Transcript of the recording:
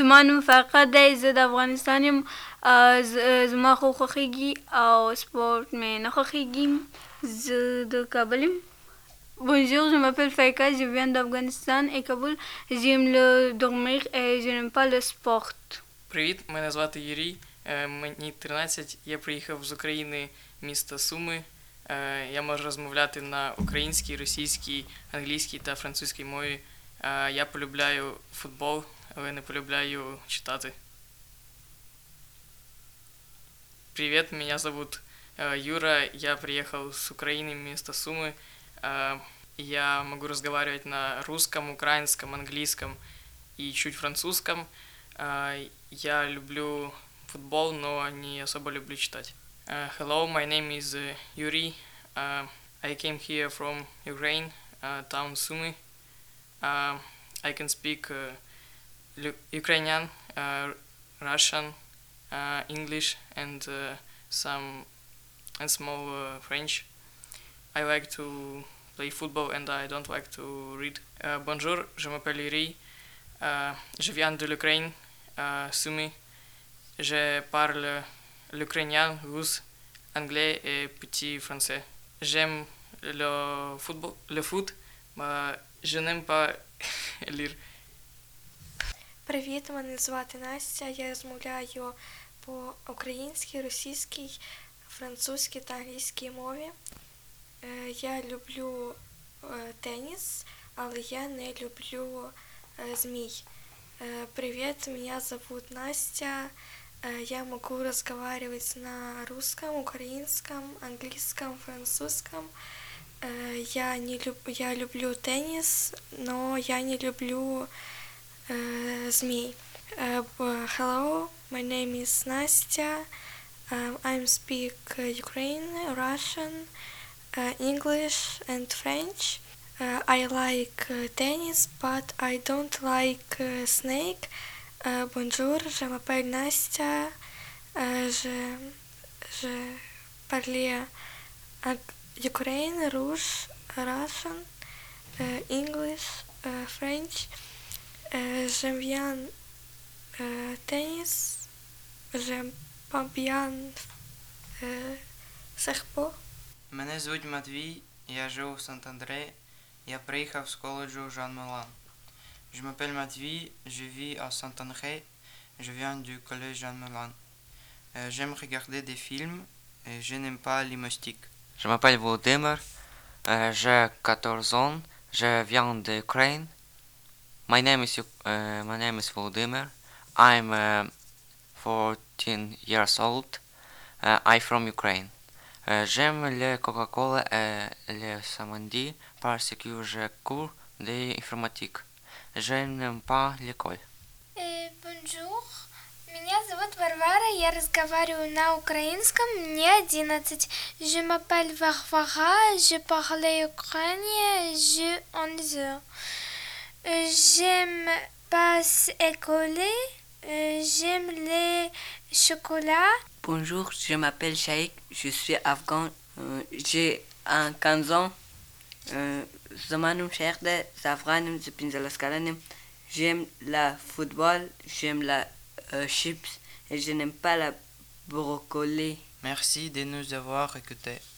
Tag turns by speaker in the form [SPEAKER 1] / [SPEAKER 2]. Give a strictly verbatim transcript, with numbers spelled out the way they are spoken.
[SPEAKER 1] زما نوم فرقه دی، زه د افغانستان یم. زما خو خوښېږي او سپورت مې نه خوښېږي. زه د کابل یم. Bonjour, je m'appelle Faïka, je viens d'Afghanistan et Kaboul. J'aime le dormir et je n'aime pas le sport.
[SPEAKER 2] Привіт, мене звати Юрій, е, мені тринадцять, я приїхав з України, міста Суми. Е, Я можу розмовляти на українській, російській, англійській та французькій мові. Е, Я полюбляю футбол, але не полюбляю читати. Привет, меня зовут э, Юра, я приехал с Украины, место Сумы. Э, я могу разговаривать на русском, украинском, английском и чуть французском. Э, я люблю футбол, но не особо люблю читать. Uh, hello, my name is uh, Yuri. Uh, I came here from Ukraine, uh, town Sumy. Uh, I can speak uh, Ukrainian, uh, Russian, uh, English, and uh, some and small uh, French. I like to play football and I don't like to read. Uh, bonjour, je m'appelle Yuri. Uh, je viens de l'Ukraine, uh, Sumy. Je parle l'ukrainien, russe, anglais et petit français. J'aime le football, le foot, mais je n'aime pas lire.
[SPEAKER 3] Привіт, мене звати Настя. Я розмовляю по-українській, російській, французькій та англійській мові. Я люблю теніс, але я не люблю змій. Привіт, меня зовут Настя. Я могу разговаривать на русском, украинском, английском, французском. Я, не люб... я люблю теннис, но я не люблю uh, змей. Uh, hello, my name is Настя. Um, I speak Ukrainian, Russian, uh, English and French. Uh, I like uh, tennis, but I don't like uh, snake. Uh, bonjour, je m'appelle Настя. Uh, je, je parle Ukrainian, Rush, Russian, uh, English, uh, French. Uh, j'aime bien uh, tennis. J'aime pas bien uh, серпо.
[SPEAKER 4] Мене звуть Матвій, я живу в Сант-Андре. Я приїхав з коледжу Жан Молан. Je m'appelle Mathieu, je vis à Saint-André, je viens du collège Jean Moulin. Euh, j'aime regarder des films et je n'aime pas les moustiques.
[SPEAKER 5] Je m'appelle Volodymyr, euh, j'ai quatorze ans, je viens d'Ukraine. My name is uh, my name is Volodymyr. I'm uh, fourteen years old. Uh, I'm from Ukraine. Uh, j'aime le Coca-Cola et le samedi parce que je cours de l'informatique. Je n'aime pas l'école.
[SPEAKER 6] Bonjour, меня зовут Варвара, я разговариваю на украинском, мне одиннадцать. Je m'appelle Varvara, je parle ukrainien, je onze ans. J'aime pas école, j'aime les chocolats.
[SPEAKER 7] Bonjour, je m'appelle Shaikh, je suis afghan, j'ai quinze ans. زمانم شیخ ده، زعفرانم، زه پنځلس کلن یم. J'aime le football, j'aime la euh, chips et je n'aime pas la brocoli.
[SPEAKER 4] Merci de nous avoir écoutés.